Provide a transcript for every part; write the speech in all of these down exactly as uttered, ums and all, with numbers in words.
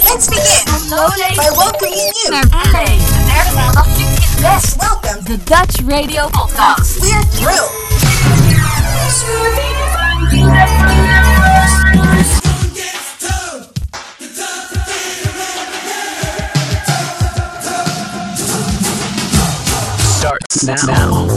Let's begin Lowlay by welcoming you. naar L A. De derde maandag nu is best. Welcome De Dutch Radio Podcast. We're thrilled. Starts now.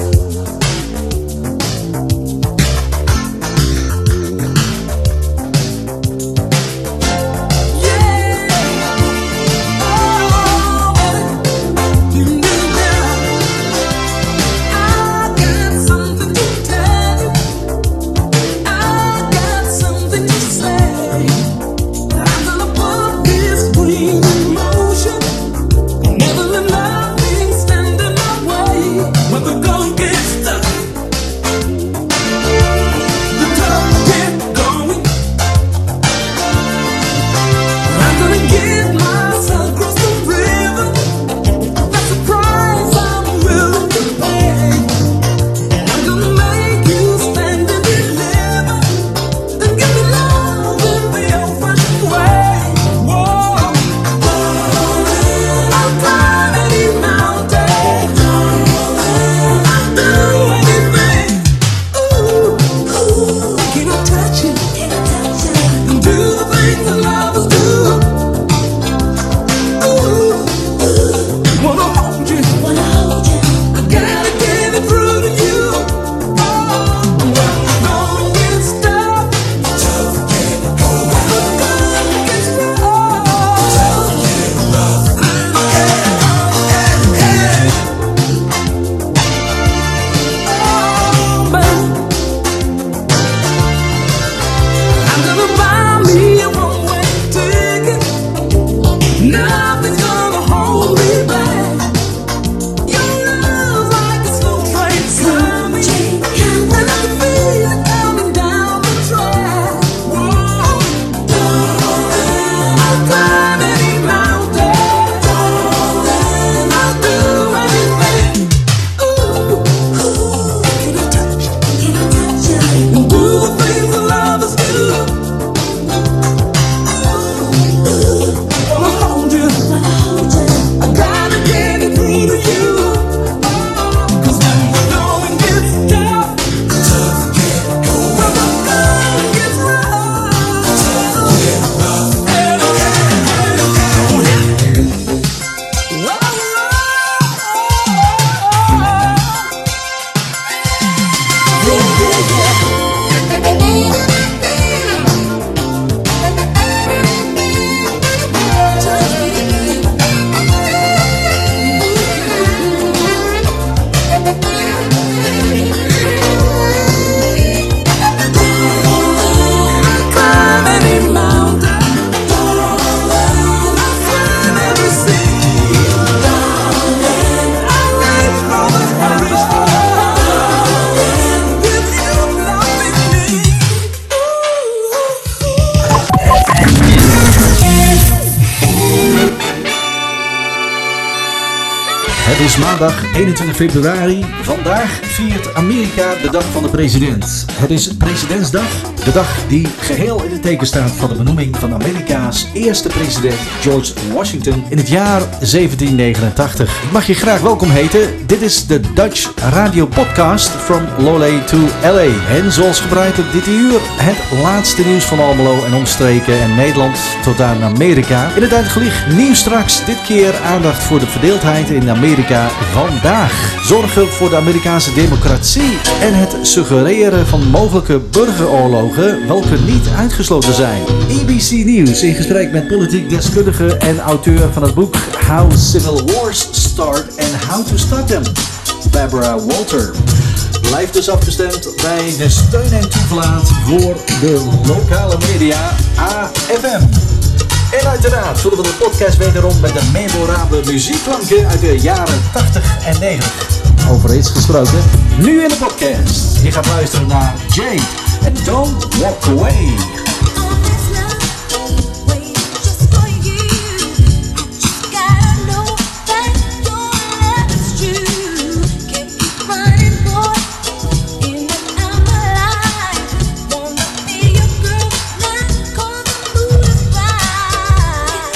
Het is maandag eenentwintig februari. Vandaag viert Amerika de dag van de president. Het is Presidentsdag, de dag die geheel in het teken staat van de benoeming van Amerika's eerste president George Washington in het jaar zeventien negenentachtig. Ik mag je graag welkom heten. Dit is de Dutch Radio Podcast from Lowlay to L A. En zoals gebruikelijk dit uur het laatste nieuws van Almelo en omstreken en Nederland tot aan Amerika. In het uitgelicht nieuws straks, dit keer aandacht voor de verdeeldheid in Amerika vandaag. Zorgen voor de Amerikaanse democratie en het suggereren van mogelijke burgeroorlogen, welke niet uitgesloten zijn. A B C Nieuws in gesprek met politiek deskundige en auteur van het boek How Civil Wars Start and How to Stop Them, Barbara Walter. Blijf dus afgestemd bij de steun en toeverlaat voor de lokale media A F M. En uiteraard vullen we de podcast wederom met de memorabele muziekklanken uit de jaren tachtig en negentig. Over iets gesproken, nu in de podcast. Je gaat luisteren naar Jay en Don't Walk Away. Wanna be your girl now, 'cause the mood is right.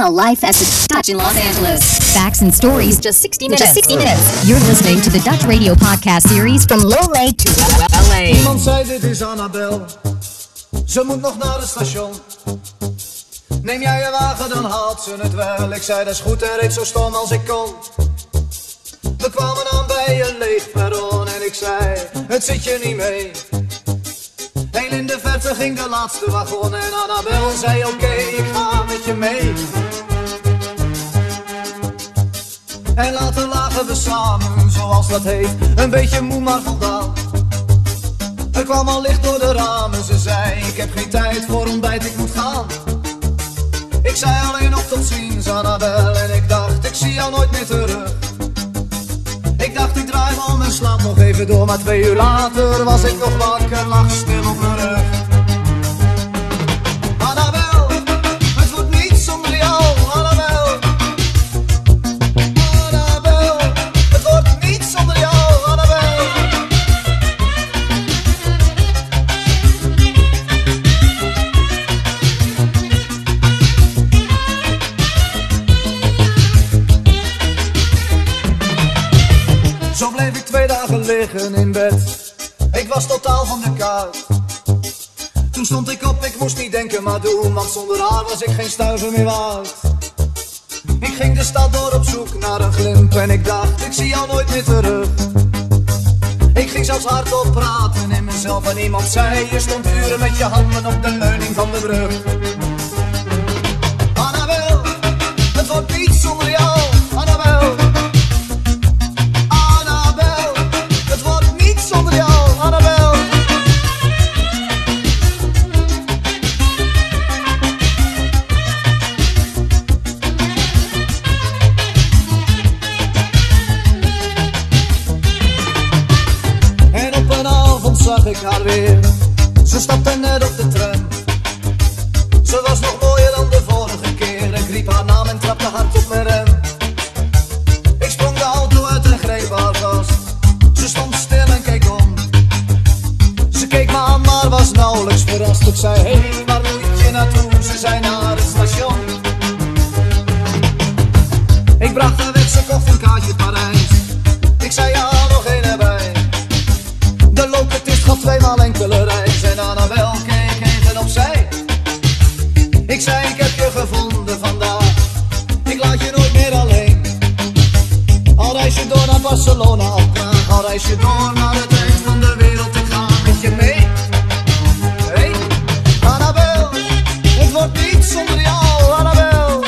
Now live at the Dutch in Los Angeles. Facts and stories, just sixty minutes. Just sixty minutes. You're listening to the Dutch Radio podcast series from Lowley to L A. Iemand zei dit is Annabel, ze moet nog naar het station. Neem jij je wagen, dan haalt ze het wel. Ik zei dat is goed en reed zo stom als ik kon. We kwamen aan bij een leeg perron en ik zei, het zit je niet mee. Heel in de verte ging de laatste wagon en Annabel zei oké, okay, ik ga met je mee. En later lagen we samen, zoals dat heet, een beetje moe maar voldaan. Er kwam al licht door de ramen, ze zei, ik heb geen tijd voor ontbijt, ik moet gaan. Ik zei alleen nog tot ziens, Annabel, en ik dacht, ik zie jou nooit meer terug. Ik dacht, ik draai me om en slaap nog even door, maar twee uur later was ik nog wakker, lag stil op mijn rug. Annabel, het wordt niet zonder jou, Annabel. Annabel, het wordt niet zonder jou, Annabel. Zo bleef ik twee dagen liggen in bed. Ik was totaal van de kaart. Toen stond ik op, ik moest niet denken maar doen, want zonder haar was ik geen stuiver meer waard. Ik ging de stad door op zoek naar een glimp en ik dacht, ik zie jou nooit meer terug. Ik ging zelfs hardop praten in mezelf en iemand zei, je stond uren met je handen op de leuning van de brug. Annabel, het wordt niet zonder jou, Annabel. Zonder jou, Annabel. En op een avond zag ik haar weer. Ze stapte net op de tram. Ze was nog mooier dan de vorige keer. Ik riep haar naam en trapte hard op mijn rem. Ik sprong de auto uit en greep haar vast. Ze stond stil en keek om. Ze keek me aan, maar was nauwelijks verrast. Ik zei, hé, hey, waar moet je naartoe? Ze zei, naar het station. Ik bracht haar weg, ze kocht een kaartje Parijs. Ik zei, ja, nog één erbij. De locatist gaf tweemaal enkele reis. En Annabel keek even opzij. Ik zei, ik heb je gevonden vandaag. Ik laat je nooit meer alleen. Al reis je door naar Barcelona of Praag, al reis je door naar het eind van de wereld, ik ga met je mee. Hey, Annabel, het wordt niet zonder jou, Annabel.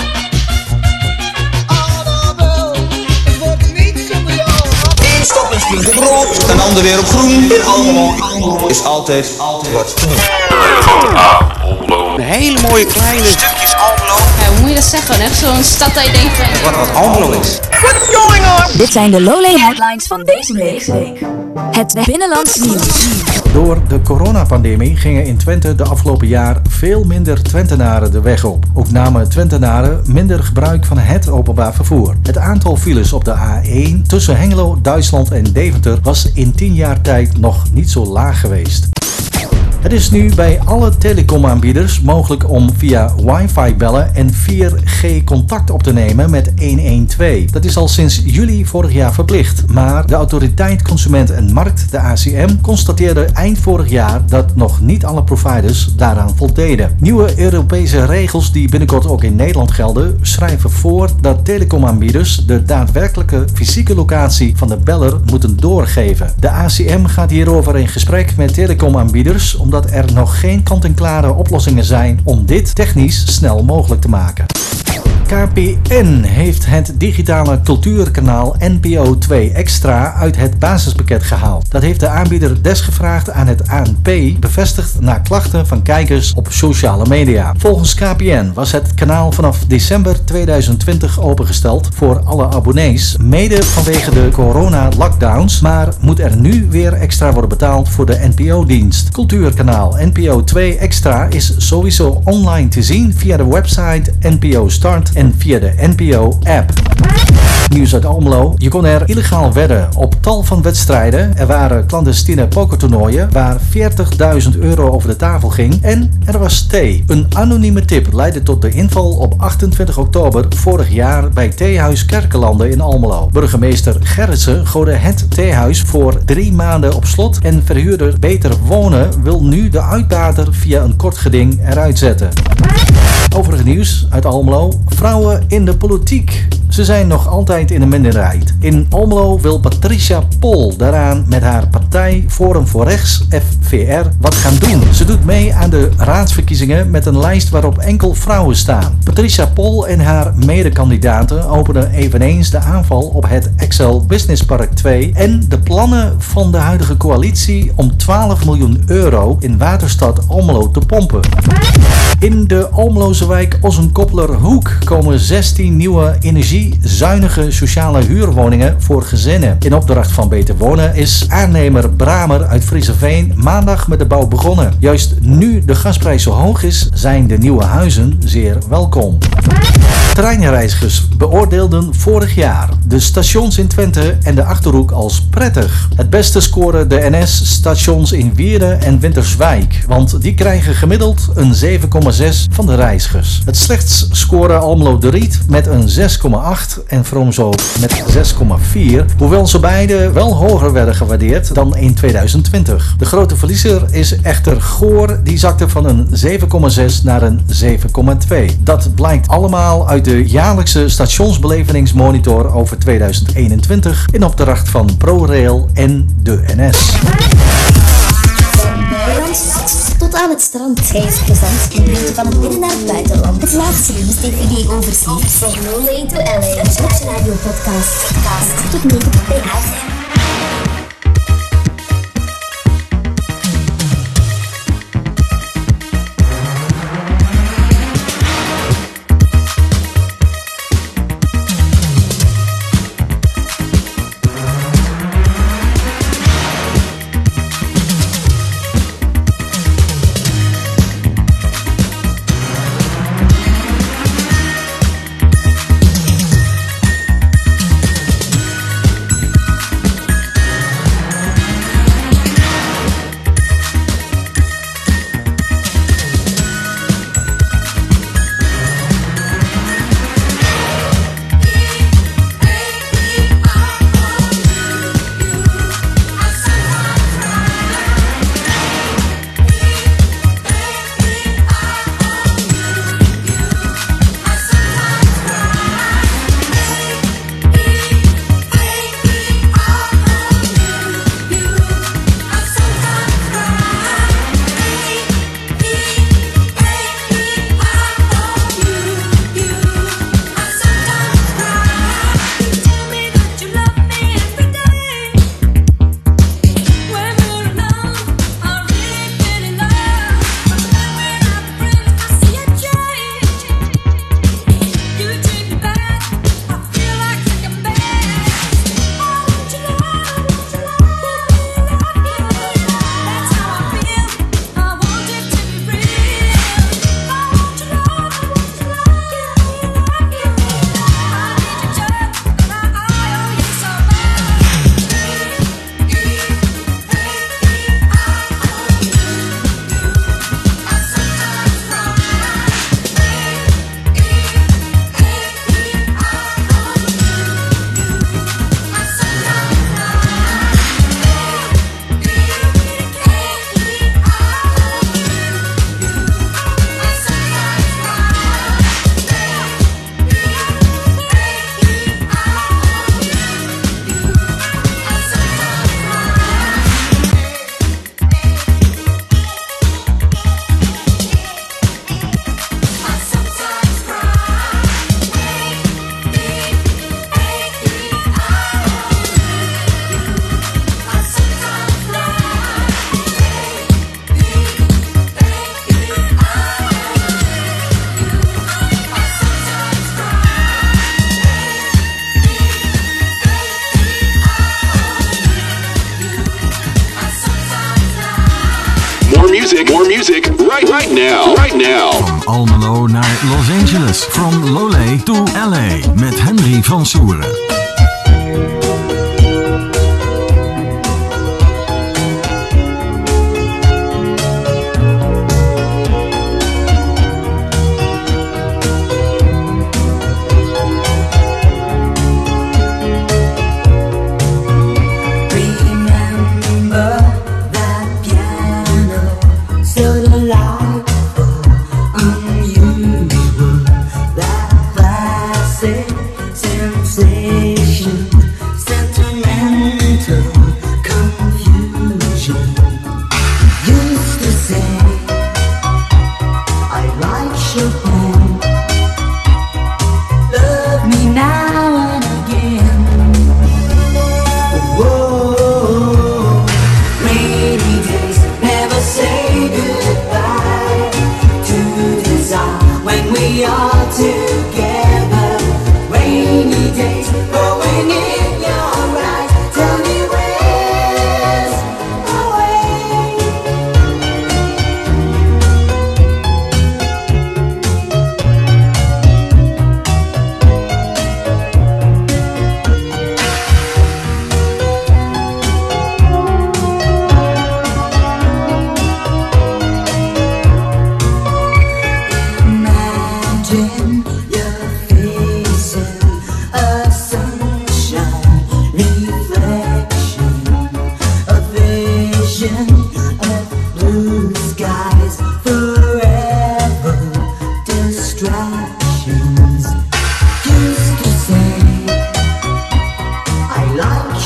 Annabel, het wordt niet zonder jou. Eén stop en springt op rood, een ander weer op groen. Dit allemaal is altijd, altijd wat. Een hele mooie kleine stukjes Almelo. Ja, hoe moet je dat zeggen? Echt zo'n stad dat je denkt van... Wat, wat Almelo is. What's going on? Dit zijn de Lowley headlines van deze week. Het binnenlands nieuws. Door de coronapandemie gingen in Twente de afgelopen jaar veel minder Twentenaren de weg op. Ook namen Twentenaren minder gebruik van het openbaar vervoer. Het aantal files op de A één tussen Hengelo, Duitsland en Deventer was in tien jaar tijd nog niet zo laag geweest. Het is nu bij alle telecomaanbieders mogelijk om via wifi bellen en vier G contact op te nemen met honderdtwaalf. Dat is al sinds juli vorig jaar verplicht. Maar de Autoriteit Consument en Markt, de A C M, constateerde eind vorig jaar dat nog niet alle providers daaraan voldeden. Nieuwe Europese regels die binnenkort ook in Nederland gelden, schrijven voor dat telecomaanbieders de daadwerkelijke fysieke locatie van de beller moeten doorgeven. De A C M gaat hierover in gesprek met telecomaanbieders om dat er nog geen kant-en-klare oplossingen zijn om dit technisch snel mogelijk te maken. K P N heeft het digitale cultuurkanaal N P O twee Extra uit het basispakket gehaald. Dat heeft de aanbieder desgevraagd aan het A N P bevestigd na klachten van kijkers op sociale media. Volgens K P N was het kanaal vanaf december tweeduizend twintig opengesteld voor alle abonnees, mede vanwege de corona-lockdowns, maar moet er nu weer extra worden betaald voor de N P O-dienst. Cultuurkanaal N P O twee Extra is sowieso online te zien via de website N P O Start en via de N P O-app. Nieuws uit Almelo. Je kon er illegaal wedden op tal van wedstrijden. Er waren clandestine pokertoernooien waar veertigduizend euro over de tafel ging. En er was thee. Een anonieme tip leidde tot de inval op achtentwintig oktober vorig jaar bij Theehuis Kerkelanden in Almelo. Burgemeester Gerritsen gooide het theehuis voor drie maanden op slot en verhuurder Beter Wonen wil nu de uitbater via een kort geding eruit zetten. Overig nieuws uit Almelo. Vrouwen in de politiek. Ze zijn nog altijd in de minderheid. In Almelo wil Patricia Pol daaraan met haar partij Forum voor Rechts, F V R, wat gaan doen. Ze doet mee aan de raadsverkiezingen met een lijst waarop enkel vrouwen staan. Patricia Pol en haar medekandidaten openen eveneens de aanval op het Excel Business Park twee en de plannen van de huidige coalitie om twaalf miljoen euro in Waterstad Almelo te pompen. In de Almeloze wijk Ossenkoppelerhoek komen zestien nieuwe energiezuinige sociale huurwoningen voor gezinnen. In opdracht van Beter Wonen is aannemer Bramer uit Friezenveen maandag met de bouw begonnen. Juist nu de gasprijs zo hoog is, zijn de nieuwe huizen zeer welkom. Treinreizigers beoordeelden vorig jaar de stations in Twente en de Achterhoek als prettig. Het beste scoren de N S-stations in Wierden en Winterswijk, want die krijgen gemiddeld een zeven komma zes van de reizigers. Het slechtst scoren Almelo de Riet met een zes komma acht en Vroomzo met zes komma vier, hoewel ze beide wel hoger werden gewaardeerd dan in tweeduizend twintig. De grote verliezer is echter Goor, die zakte van een zeven komma zes naar een zeven komma twee. Dat blijkt allemaal uit de jaarlijkse stationsbelevingsmonitor over tweeduizend eenentwintig in opdracht van ProRail en de N S. Tot aan het strand. Hij is plezant en brengt je van het binnen naar het buitenland. Het laatste nieuws, D V D overzicht. Van Lowlay to L A. Een Dutch Radio podcast. Podcast. Tot nu bij A F M. music, more music, right, right now, right now. Van Almelo naar Los Angeles, from Lowlay to L A, met Henry van Soeren.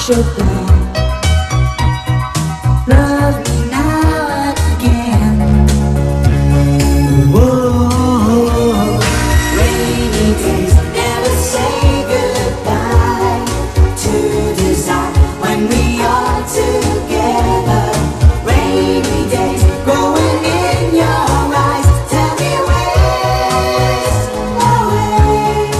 should be. Love me now and again. Whoa. Rainy days never say goodbye to desire when we are together. Rainy days growing in your eyes. Tell me where's away.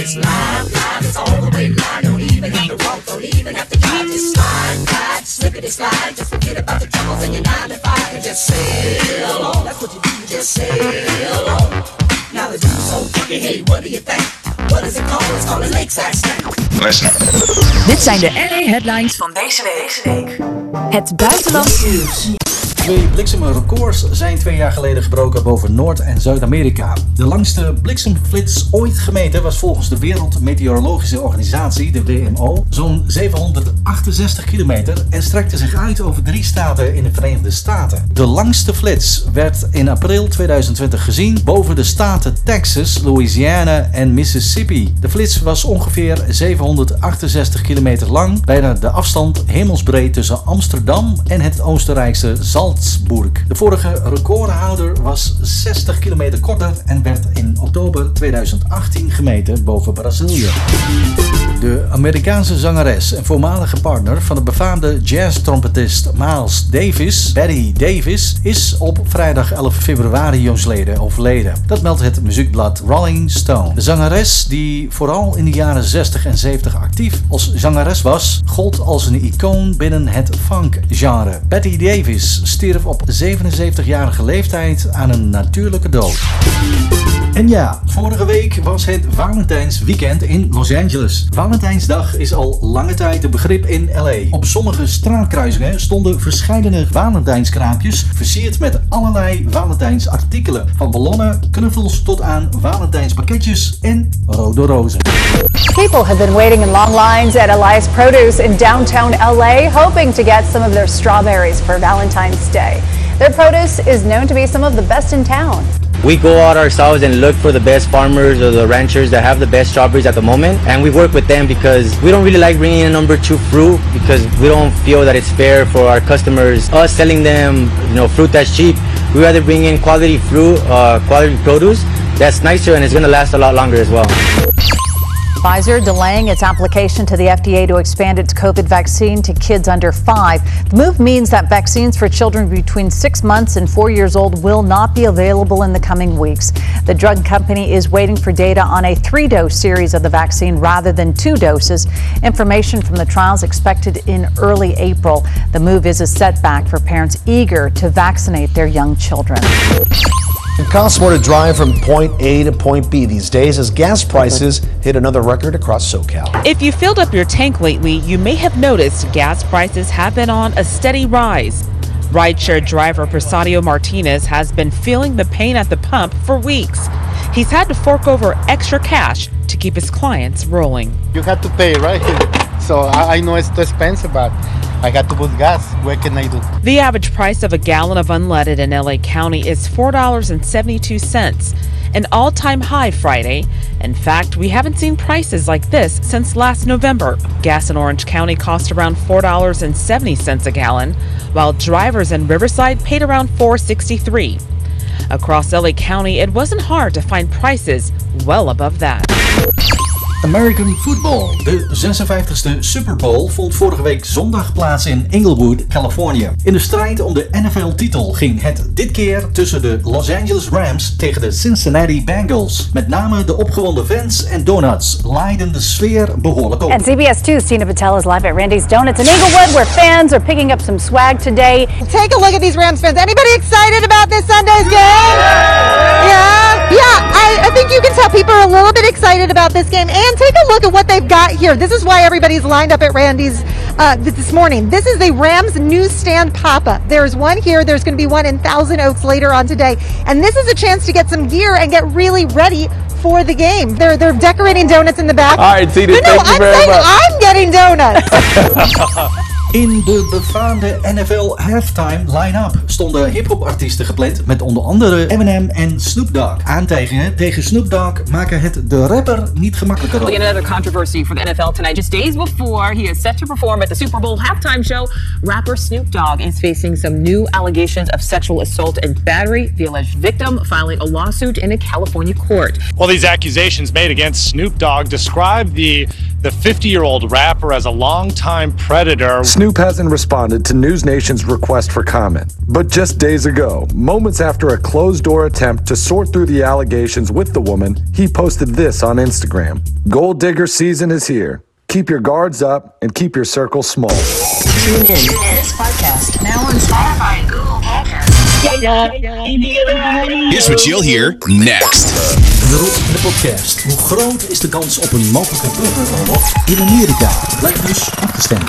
It's live, live, it's all the way live. Don't even have to walk, don't even have to drive. Just slide, slide, slippity slide. Just forget about the troubles in your nine to five and just sail on. That's what you do, just sail on. Now the dude's so funky, hey, what do you think? What is it called? It's called a lakeside stank. Listen. Dit zijn de L A headlines van deze week. Het buitenlands nieuws. Twee bliksemrecords zijn twee jaar geleden gebroken boven Noord- en Zuid-Amerika. De langste bliksemflits ooit gemeten was volgens de Wereldmeteorologische Organisatie, de W M O, zo'n zevenhonderdachtenzestig kilometer en strekte zich uit over drie staten in de Verenigde Staten. De langste flits werd in april tweeduizend twintig gezien boven de staten Texas, Louisiana en Mississippi. De flits was ongeveer zevenhonderdachtenzestig kilometer lang, bijna de afstand hemelsbreed tussen Amsterdam en het Oostenrijkse Salzburg. De vorige recordhouder was zestig kilometer korter en werd in oktober tweeduizend achttien gemeten boven Brazilië. De Amerikaanse zangeres en voormalige partner van de befaamde jazz-trompetist Miles Davis, Betty Davis, is op vrijdag elf februari jongsleden overleden. Dat meldt het muziekblad Rolling Stone. De zangeres, die vooral in de jaren zestig en zeventig actief als zangeres was, gold als een icoon binnen het funk-genre. Betty Davis stierf op zevenenzeventigjarige leeftijd aan een natuurlijke dood. En ja, vorige week was het Valentijnsweekend in Los Angeles. Valentijnsdag is al lange tijd een begrip in L A. Op sommige straatkruisingen stonden verscheidene Valentijnskraampjes versierd met allerlei Valentijnsartikelen. Van ballonnen, knuffels tot aan Valentijnspakketjes en rode rozen. People have been waiting in long lines at Elias Produce in downtown L A, hoping to get some of their strawberries for Valentine's Day. Their produce is known to be some of the best in town. We go out ourselves and look for the best farmers or the ranchers that have the best strawberries at the moment, and we work with them because we don't really like bringing in number two fruit because we don't feel that it's fair for our customers, us selling them, you know, fruit that's cheap. We rather bring in quality fruit, uh, quality produce that's nicer and it's going to last a lot longer as well. Pfizer delaying its application to the F D A to expand its COVID vaccine to kids under five. The move means that vaccines for children between six months and four years old will not be available in the coming weeks. The drug company is waiting for data on a three-dose series of the vaccine rather than two doses. Information from the trials expected in early April. The move is a setback for parents eager to vaccinate their young children. It costs more to drive from point A to point B these days as gas prices hit another record across SoCal. If you filled up your tank lately, you may have noticed gas prices have been on a steady rise. Rideshare driver Persadio Martinez has been feeling the pain at the pump for weeks. He's had to fork over extra cash to keep his clients rolling. You have to pay, right? So I know it's too expensive, but I got to put gas. What can I do? The average price of a gallon of unleaded in L A County is four dollars and seventy-two cents, an all-time high Friday. In fact, we haven't seen prices like this since last November. Gas in Orange County cost around four dollars and seventy cents a gallon, while drivers in Riverside paid around four dollars and sixty-three cents. Across L A County, it wasn't hard to find prices well above that. American Football. De zesenvijftigste Super Bowl vond vorige week zondag plaats in Inglewood, Californië. In de strijd om de N F L-titel ging het dit keer tussen de Los Angeles Rams tegen de Cincinnati Bengals. Met name de opgewonden fans en donuts laaiden de sfeer behoorlijk op. And C B S two's Tina Patel is live at Randy's Donuts in Inglewood, where fans are picking up some swag today. Take a look at these Rams fans. Anybody excited about this Sunday's game? Yeah? Yeah, I, I think you can tell people are a little bit excited about this game. And take a look at what they've got here. This is why everybody's lined up at Randy's uh, this morning. This is the Rams newsstand pop-up. There's one here. There's going to be one in Thousand Oaks later on today. And this is a chance to get some gear and get really ready for the game. They're they're decorating donuts in the back. All right, Tina, no, no, thank you I'm very saying much. I'm getting donuts. In de befaamde N F L halftime line-up stonden hip-hop-artiesten gepland met onder andere Eminem en Snoop Dogg. Aantijgingen tegen Snoop Dogg maken het de rapper niet gemakkelijker op. Well, another controversy for the N F L tonight. Just days before he is set to perform at the Super Bowl halftime show, rapper Snoop Dogg is facing some new allegations of sexual assault and battery. The alleged victim filing a lawsuit in a California court. Well, these accusations made against Snoop Dogg describe the the fifty-year-old rapper as a longtime predator. Snoop hasn't responded to News Nation's request for comment. But just days ago, moments after a closed-door attempt to sort through the allegations with the woman, he posted this on Instagram. Gold digger season is here. Keep your guards up and keep your circle small. Tune in. This podcast now on Spotify and Google Podcasts. Here's what you'll hear next. De Rob in de podcast. Hoe groot is de kans op een mogelijke burgeroorlog in Amerika? Blijf dus afgestemd.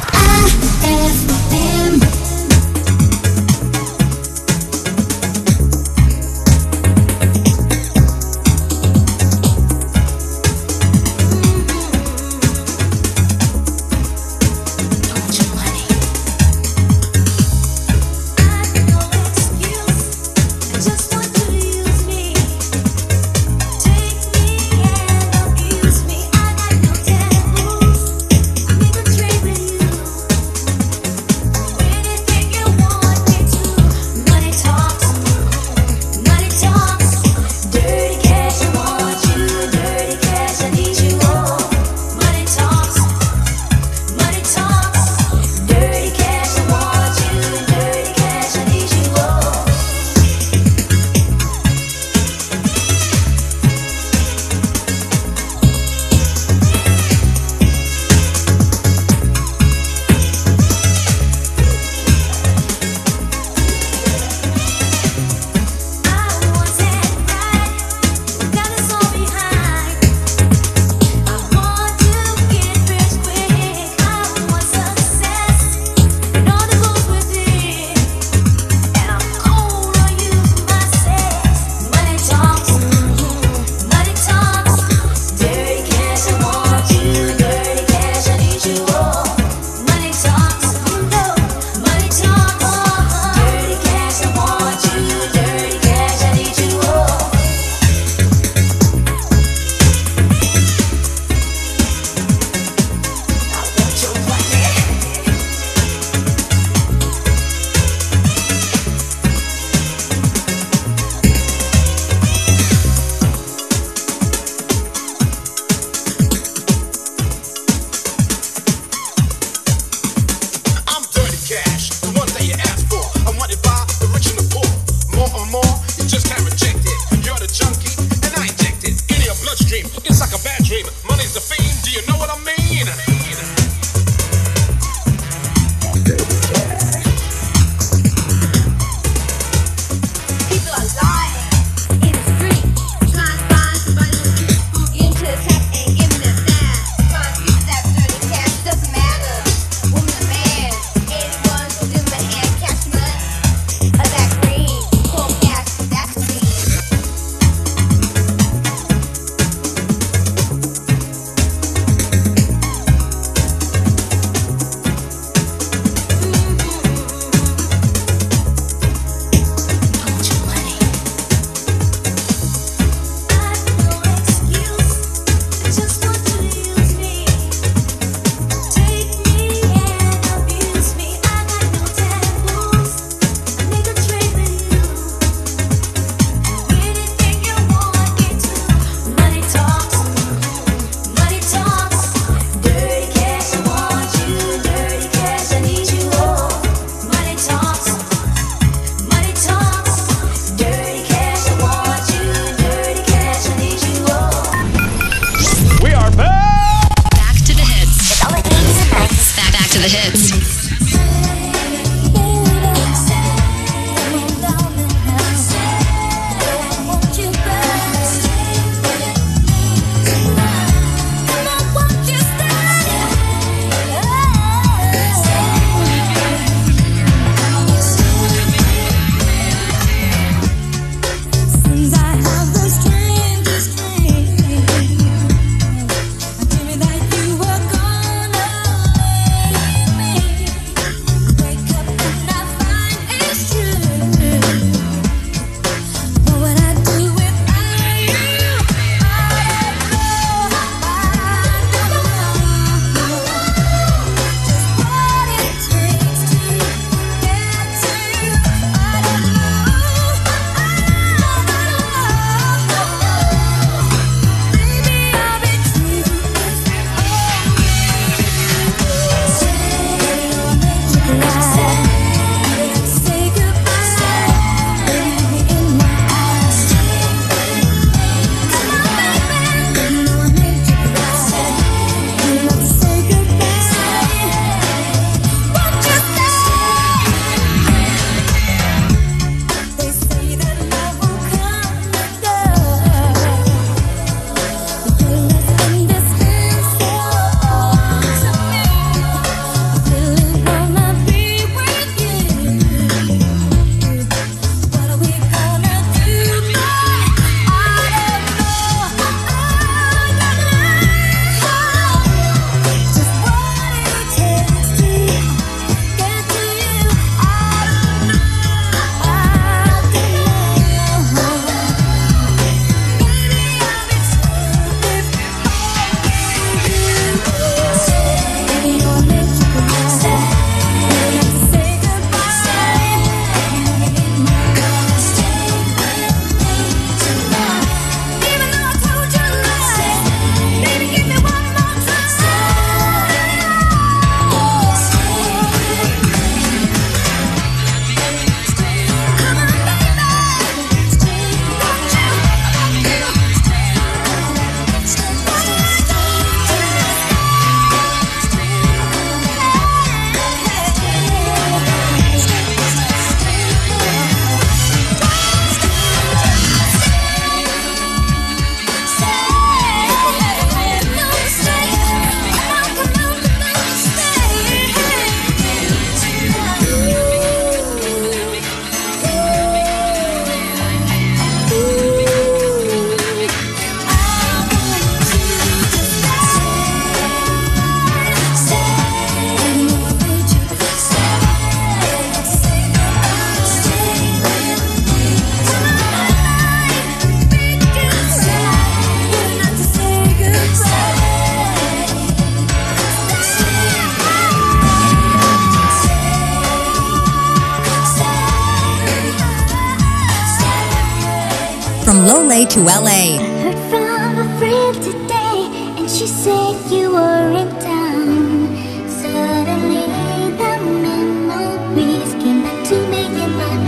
From Lowley to L A. I heard from a friend today, and she said you were in town. Suddenly the memories came back to me in my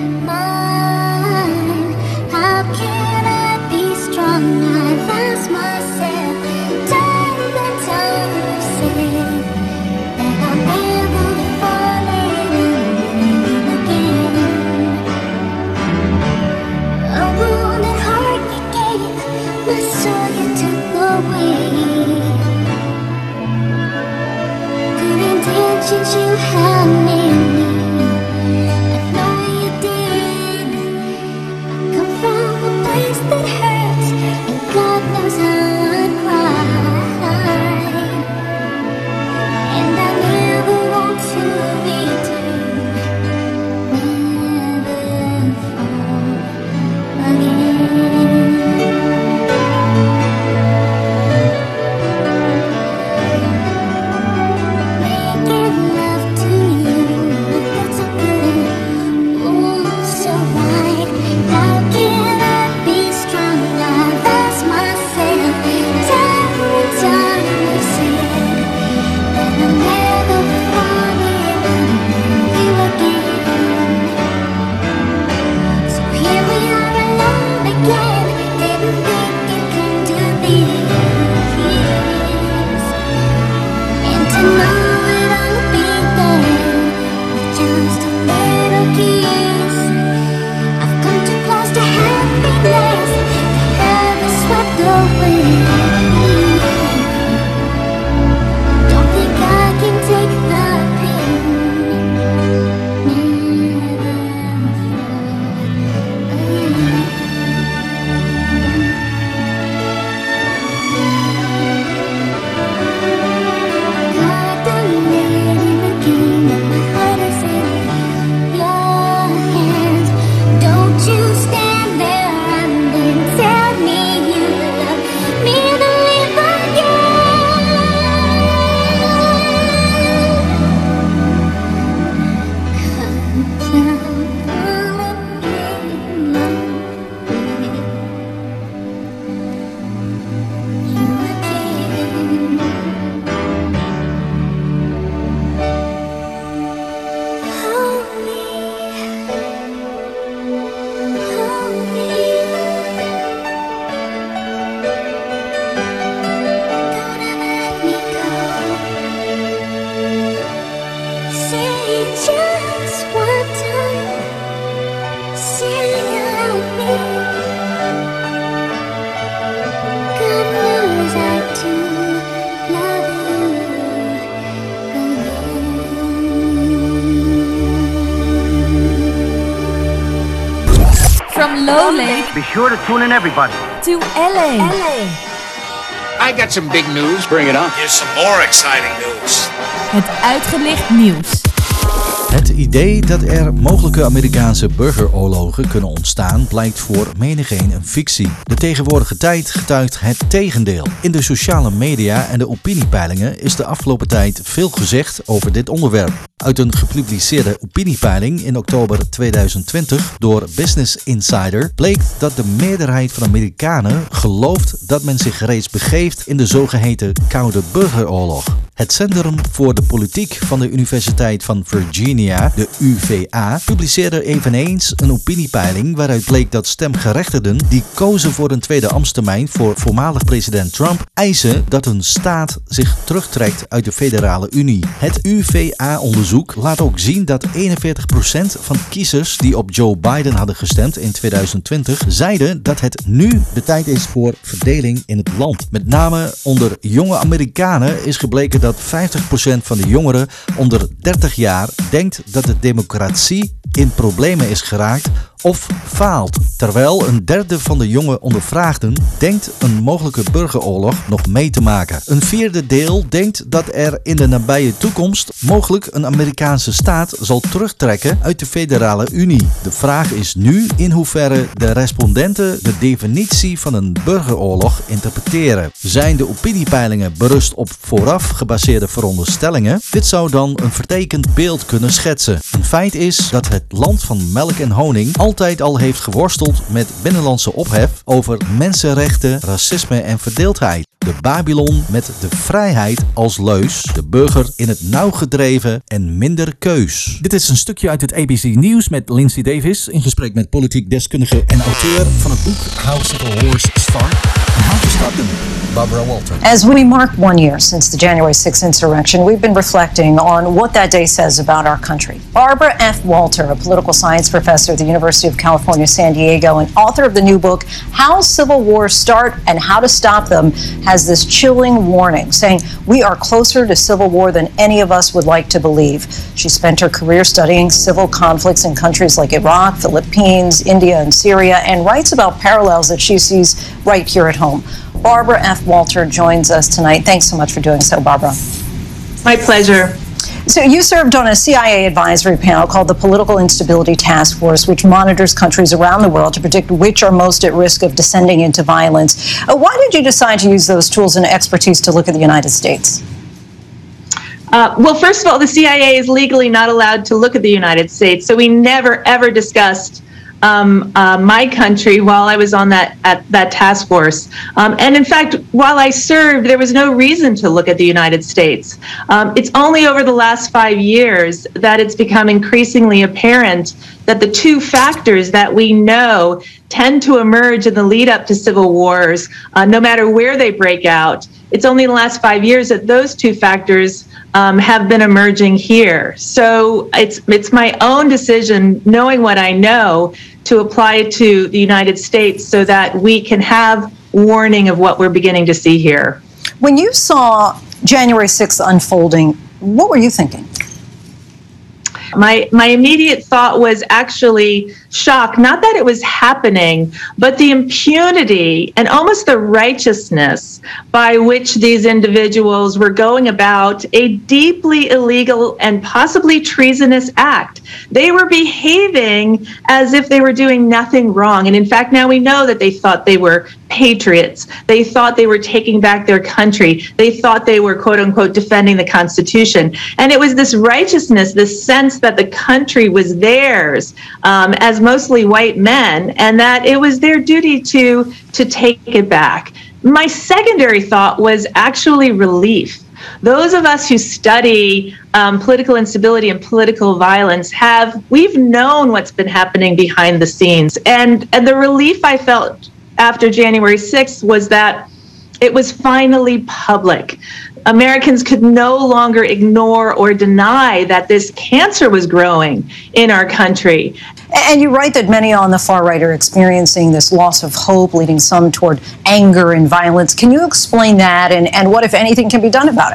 mind. How can I be strong? I lost myself. Time and time I've said that I'll never fall in love again. A wounded heart you gave, my soul you took away. Good intentions you had near me, I know you did. I come from a place that hurts, and God knows how I cried. And I never want to return, never fall again. Making love to you, that's so good, oh so right. How can I be strong? I lost myself. Time and time I said that I'll never fall in love with you again. So here we are alone again. Didn't think it come to this, and to know it I'll be there with just a little kiss. I've come too close to happiness to have it swept away. Don't think I can take the pain. God done made him again, and my heart is in your hands. Don't you stand there and then tell me you love me to live Say just one time, say you love me. God knows I do love you. From Lowley Be sure to tune in, everybody. to L A. I got some big news. Bring it on. Here's some more exciting news. Het uitgelicht nieuws. Het idee dat er mogelijke Amerikaanse burgeroorlogen kunnen ontstaan blijkt voor menigeen een fictie. De tegenwoordige tijd getuigt het tegendeel. In de sociale media en de opiniepeilingen is de afgelopen tijd veel gezegd over dit onderwerp. Uit een gepubliceerde opiniepeiling in oktober tweeduizend twintig door Business Insider bleek dat de meerderheid van Amerikanen gelooft dat men zich reeds begeeft in de zogeheten Koude Burgeroorlog. Het Centrum voor de Politiek van de Universiteit van Virginia, de U V A, publiceerde eveneens een opiniepeiling waaruit bleek dat stemgerechtigden die kozen voor een tweede ambtstermijn voor voormalig president Trump eisen dat hun staat zich terugtrekt uit de federale Unie. Het U V A-onderzoek laat ook zien dat eenenveertig procent van kiezers die op Joe Biden hadden gestemd in tweeduizend twintig zeiden dat het nu de tijd is voor verdeling in het land. Met name onder jonge Amerikanen is gebleken dat vijftig procent van de jongeren onder dertig jaar denkt dat de democratie in problemen is geraakt of faalt. Terwijl een derde van de jonge ondervraagden denkt een mogelijke burgeroorlog nog mee te maken. Een vierde deel denkt dat er in de nabije toekomst mogelijk een Amerikaanse staat zal terugtrekken uit de federale Unie. De vraag is nu in hoeverre de respondenten de definitie van een burgeroorlog interpreteren. Zijn de opiniepeilingen berust op vooraf gebaseerde veronderstellingen? Dit zou dan een vertekend beeld kunnen schetsen. Een feit is dat het land van melk en honing al altijd al heeft geworsteld met binnenlandse ophef over mensenrechten, racisme en verdeeldheid. De Babylon met de vrijheid als leus, de burger in het nauw gedreven en minder keus. Dit is een stukje uit het A B C Nieuws met Lindsay Davis in gesprek met politiek deskundige en auteur van het boek How Civil Wars Start and How to Stop Them, Barbara Walter. As we mark one year since the January sixth insurrection, we've been reflecting on what that day says about our country. Barbara F. Walter, a political science professor at the University of California, San Diego, and author of the new book, How Civil Wars Start and How to Stop Them, has this chilling warning saying we are closer to civil war than any of us would like to believe. She spent her career studying civil conflicts in countries like Iraq, Philippines, India, and Syria, and writes about parallels that she sees right here at home. Barbara F. Walter joins us tonight. Thanks so much for doing so, Barbara. My pleasure. So you served on a C I A advisory panel called the Political Instability Task Force, which monitors countries around the world to predict which are most at risk of descending into violence. Uh, why did you decide to use those tools and expertise to look at the United States? Uh, well, first of all, the C I A is legally not allowed to look at the United States, so we never, ever discussed Um, uh, my country while I was on that at that task force. Um, and in fact, while I served, there was no reason to look at the United States. Um, it's only over the last five years that it's become increasingly apparent that the two factors that we know tend to emerge in the lead up to civil wars, uh, no matter where they break out, it's only in the last five years that those two factors Um, have been emerging here. So it's it's my own decision, knowing what I know, to apply it to the United States so that we can have warning of what we're beginning to see here. When you saw January sixth unfolding, what were you thinking? My my immediate thought was actually shock, not that it was happening, but the impunity and almost the righteousness by which these individuals were going about a deeply illegal and possibly treasonous act. They were behaving as if they were doing nothing wrong. And in fact, now we know that they thought they were patriots. They thought they were taking back their country. They thought they were, quote unquote, defending the Constitution. And it was this righteousness, this sense that the country was theirs, um, as mostly white men, and that it was their duty to, to take it back. My secondary thought was actually relief. Those of us who study um, political instability and political violence have, we've known what's been happening behind the scenes. And, and the relief I felt after January sixth was that it was finally public. Americans could no longer ignore or deny that this cancer was growing in our country. And you write that many on the far right are experiencing this loss of hope, leading some toward anger and violence. Can you explain that and, and what, if anything, can be done about it?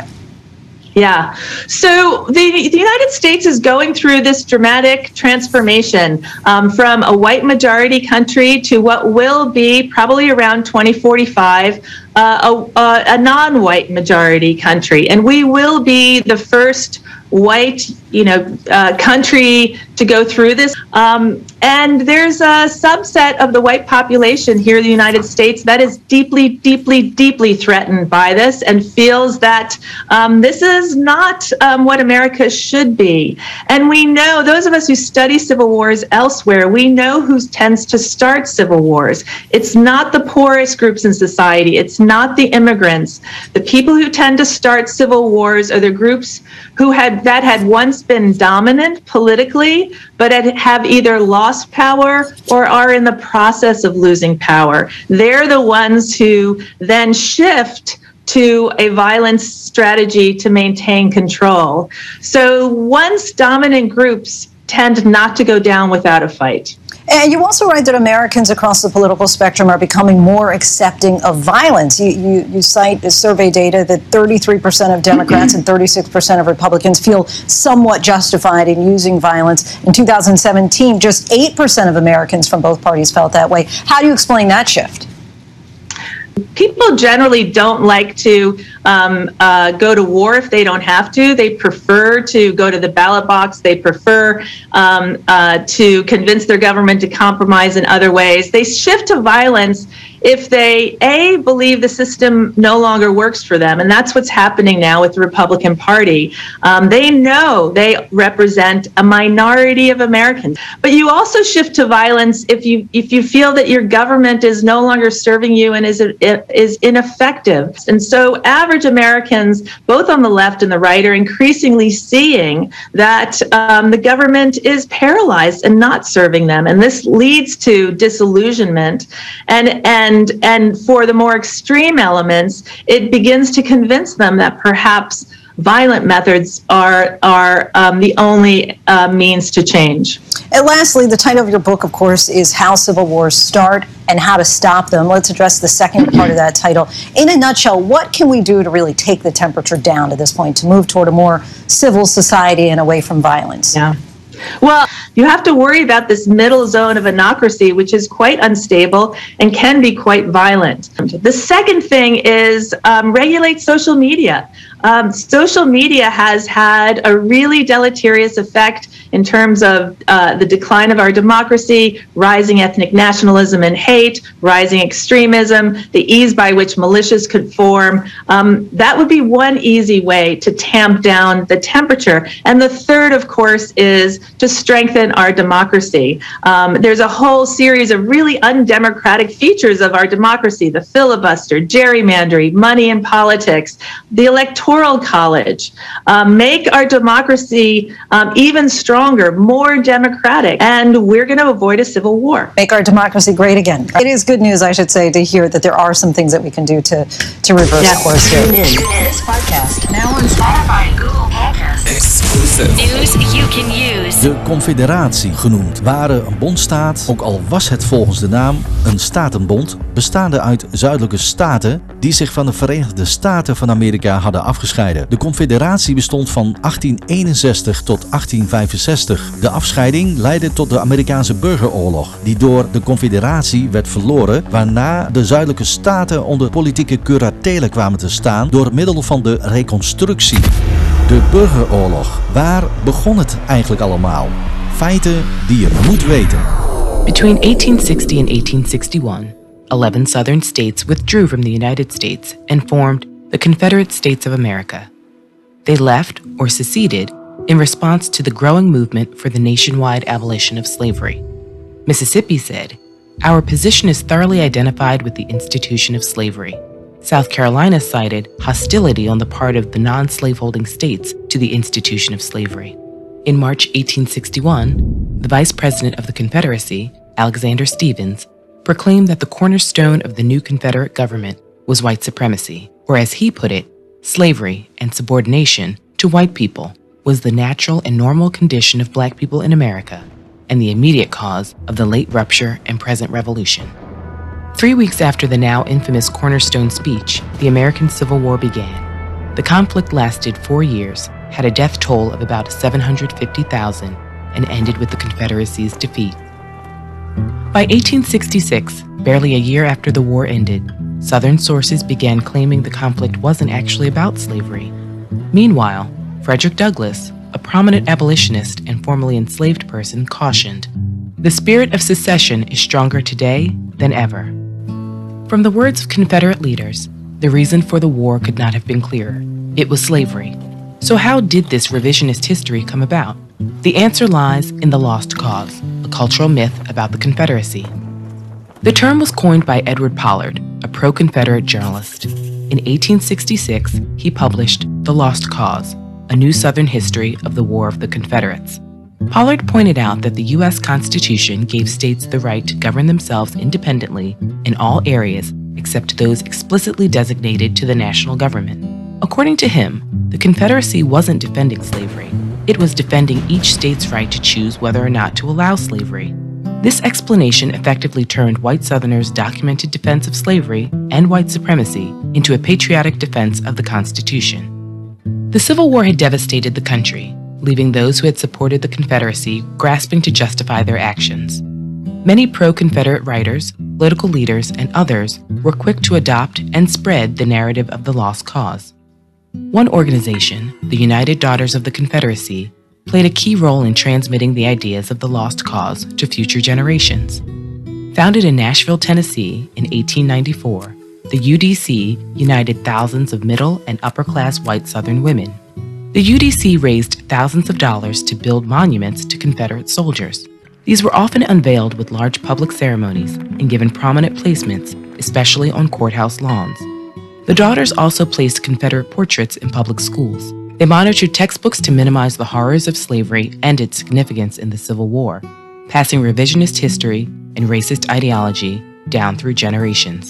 Yeah. So the, the United States is going through this dramatic transformation um, from a white majority country to what will be probably around twenty forty-five, uh, a, a non-white majority country. And we will be the first white, you know, uh, country to go through this. Um, and there's a subset of the white population here in the United States that is deeply, deeply, deeply threatened by this and feels that um, this is not um, what America should be. And we know, those of us who study civil wars elsewhere, we know who tends to start civil wars. It's not the poorest groups in society. It's not the immigrants. The people who tend to start civil wars are the groups who had that had once been dominant politically, but had, have either lost power or are in the process of losing power. They're the ones who then shift to a violence strategy to maintain control. So once dominant groups tend not to go down without a fight. And you also write that Americans across the political spectrum are becoming more accepting of violence. You, you, you cite the survey data that thirty-three percent of Democrats and thirty-six percent of Republicans feel somewhat justified in using violence. In two thousand seventeen, just eight percent of Americans from both parties felt that way. How do you explain that shift? People generally don't like to um, uh, go to war if they don't have to. They prefer to go to the ballot box. They prefer um, uh, to convince their government to compromise in other ways. They shift to violence if they, A, believe the system no longer works for them. And that's what's happening now with the Republican Party. Um, they know they represent a minority of Americans. But you also shift to violence if you if you feel that your government is no longer serving you and is is ineffective. And so average Americans, both on the left and the right, are increasingly seeing that um, the government is paralyzed and not serving them. And this leads to disillusionment. And, and And and for the more extreme elements, it begins to convince them that perhaps violent methods are are um, the only uh, means to change. And lastly, the title of your book, of course, is How Civil Wars Start and How to Stop Them. Let's address the second part of that title. In a nutshell, what can we do to really take the temperature down at this point, to move toward a more civil society and away from violence? Yeah. Well, you have to worry about this middle zone of anocracy, which is quite unstable and can be quite violent. The second thing is um, regulate social media. Um, social media has had a really deleterious effect in terms of uh, the decline of our democracy, rising ethnic nationalism and hate, rising extremism, the ease by which militias could form. Um, that would be one easy way to tamp down the temperature. And the third, of course, is to strengthen our democracy. Um, there's a whole series of really undemocratic features of our democracy: the filibuster, gerrymandering, money in politics, the electoral college. Um, make our democracy um, even stronger, more democratic, and we're going to avoid a civil war. Make our democracy great again. It is good news, I should say, to hear that there are some things that we can do to, to reverse yes. course here. Tune in to this podcast now on Spotify and Google Podcasts. Exclusive. News you can use. De Confederatie genoemd, waren een bondstaat, ook al was het volgens de naam een statenbond, bestaande uit zuidelijke staten die zich van de Verenigde Staten van Amerika hadden afgescheiden. De Confederatie bestond van achttien eenenzestig tot achttien vijfenzestig. De afscheiding leidde tot de Amerikaanse burgeroorlog, die door de Confederatie werd verloren, waarna de zuidelijke staten onder politieke curatele kwamen te staan door middel van de Reconstructie. De burgeroorlog. Waar begon het eigenlijk allemaal? Feiten die je moet weten. Between eighteen sixty and eighteen sixty-one, eleven southern states withdrew from the United States and formed the Confederate States of America. They left or seceded in response to the growing movement for the nationwide abolition of slavery. Mississippi said, "Our position is thoroughly identified with the institution of slavery." South Carolina cited hostility on the part of the non-slaveholding states to the institution of slavery. In March eighteen sixty-one, the Vice President of the Confederacy, Alexander Stephens, proclaimed that the cornerstone of the new Confederate government was white supremacy, or as he put it, slavery and subordination to white people was the natural and normal condition of black people in America and the immediate cause of the late rupture and present revolution. Three weeks after the now infamous Cornerstone speech, the American Civil War began. The conflict lasted four years, had a death toll of about seven hundred fifty thousand, and ended with the Confederacy's defeat. By eighteen sixty-six, barely a year after the war ended, Southern sources began claiming the conflict wasn't actually about slavery. Meanwhile, Frederick Douglass, a prominent abolitionist and formerly enslaved person, cautioned, "The spirit of secession is stronger today than ever." From the words of Confederate leaders, the reason for the war could not have been clearer. It was slavery. So how did this revisionist history come about? The answer lies in the Lost Cause, a cultural myth about the Confederacy. The term was coined by Edward Pollard, a pro-Confederate journalist. In eighteen sixty-six, he published The Lost Cause, a new Southern history of the War of the Confederates. Pollard pointed out that the U S Constitution gave states the right to govern themselves independently in all areas except those explicitly designated to the national government. According to him, the Confederacy wasn't defending slavery. It was defending each state's right to choose whether or not to allow slavery. This explanation effectively turned white Southerners' documented defense of slavery and white supremacy into a patriotic defense of the Constitution. The Civil War had devastated the country, leaving those who had supported the Confederacy grasping to justify their actions. Many pro-Confederate writers, political leaders, and others were quick to adopt and spread the narrative of the lost cause. One organization, the United Daughters of the Confederacy, played a key role in transmitting the ideas of the lost cause to future generations. Founded in Nashville, Tennessee in eighteen ninety-four, the U D C united thousands of middle and upper-class white Southern women. The U D C raised thousands of dollars to build monuments to Confederate soldiers. These were often unveiled with large public ceremonies and given prominent placements, especially on courthouse lawns. The Daughters also placed Confederate portraits in public schools. They monitored textbooks to minimize the horrors of slavery and its significance in the Civil War, passing revisionist history and racist ideology down through generations.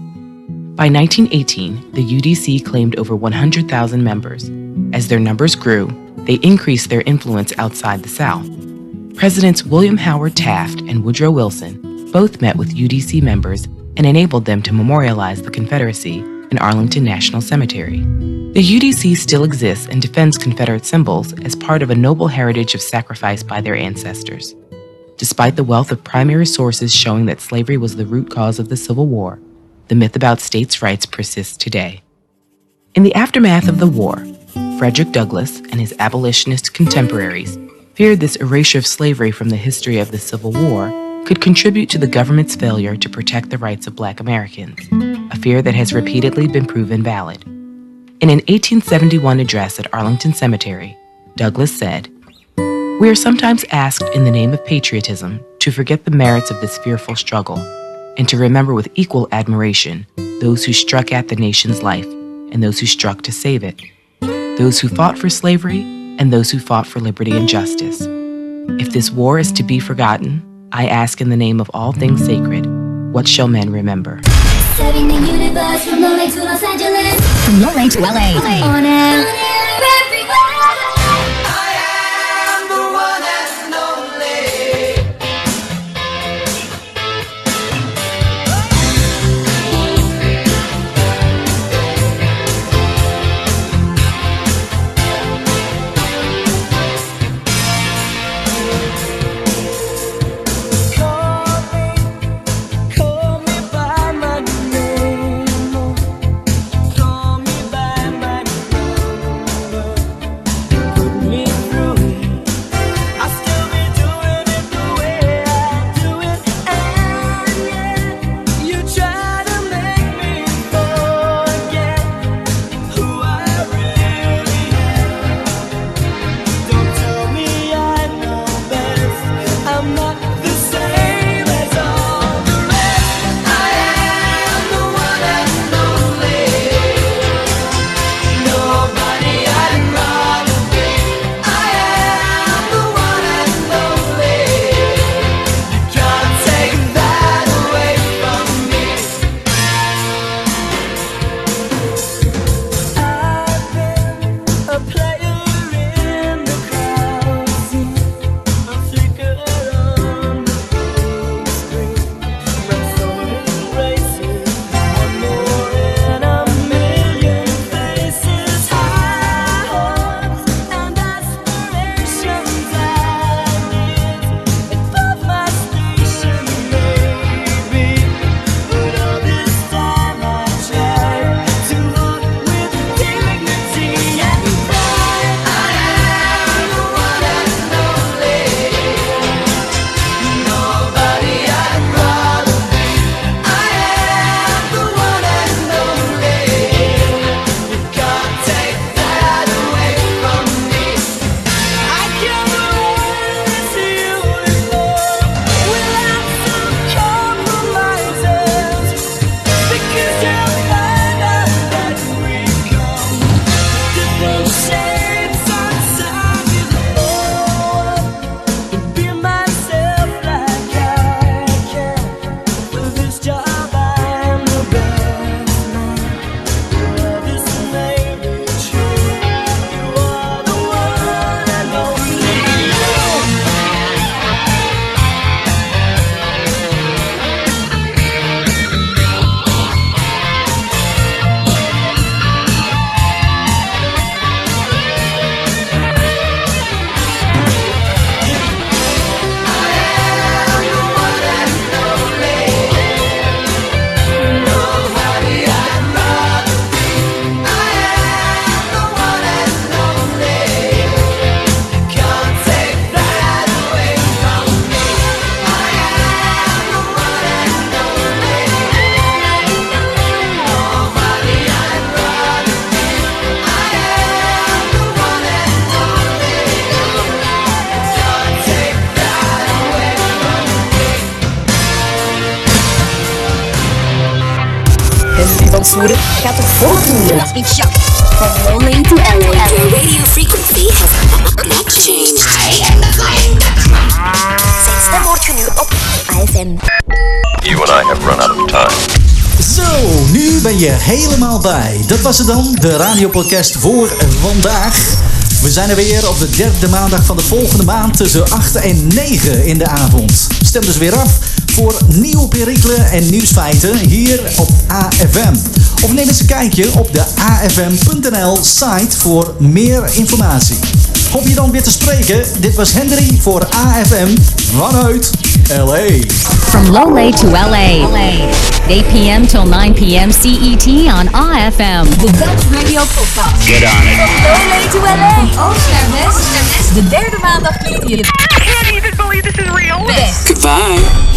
By nineteen eighteen, the U D C claimed over one hundred thousand members. As their numbers grew, they increased their influence outside the South. Presidents William Howard Taft and Woodrow Wilson both met with U D C members and enabled them to memorialize the Confederacy in Arlington National Cemetery. The U D C still exists and defends Confederate symbols as part of a noble heritage of sacrifice by their ancestors. Despite the wealth of primary sources showing that slavery was the root cause of the Civil War, the myth about states' rights persists today. In the aftermath of the war, Frederick Douglass and his abolitionist contemporaries feared this erasure of slavery from the history of the Civil War could contribute to the government's failure to protect the rights of Black Americans, a fear that has repeatedly been proven valid. In an eighteen seventy-one address at Arlington Cemetery, Douglass said, "We are sometimes asked in the name of patriotism to forget the merits of this fearful struggle and to remember with equal admiration those who struck at the nation's life and those who struck to save it, those who fought for slavery and those who fought for liberty and justice. If this war is to be forgotten, I ask in the name of all things sacred, what shall men remember?" Serving the universe from L A to Los Angeles. From L A to L A. On air, everywhere. Call me by my name. Henry van Soeren gaat er volgende. Ik shock. From Lowlay to L A. Your radio frequency has not changed. Zijn stem hoort je nu op I F M. You and I have run out of time. Zo, nu ben je helemaal bij. Dat was het dan, de radiopodcast voor vandaag. We zijn er weer op de derde maandag van de volgende maand tussen acht en negen in de avond. Stem dus weer af voor nieuwe perikelen en nieuwsfeiten hier op A F M. Of neem eens een kijkje op de A F M punt N L site voor meer informatie. Hoop je dan weer te spreken. Dit was Henry voor A F M vanuit L A. From Lowlay to L A. eight p.m. till nine p.m. C E T on A F M. The Dutch Radio Podcast. Get on it. From Lowlay to L A. Oost naar West. De derde maandag klinkt je. I can't even believe this is real. Best. Goodbye.